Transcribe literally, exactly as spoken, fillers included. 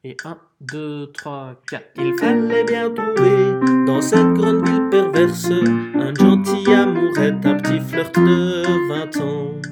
Et un, deux, trois, quatre. Il fallait bien trouver dans cette grande ville perverse un gentil amourette, un petit flirt de vingt ans.